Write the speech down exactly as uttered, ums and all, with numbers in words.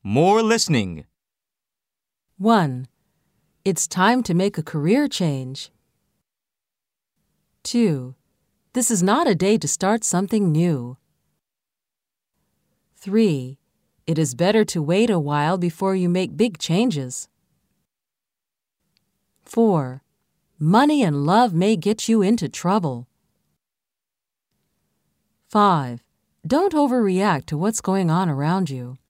More listening. one. It's time to make a career change. two. This is not a day to start something new. three. It is better to wait a while before you make big changes. four. Money and love may get you into trouble. five. Don't overreact to what's going on around you.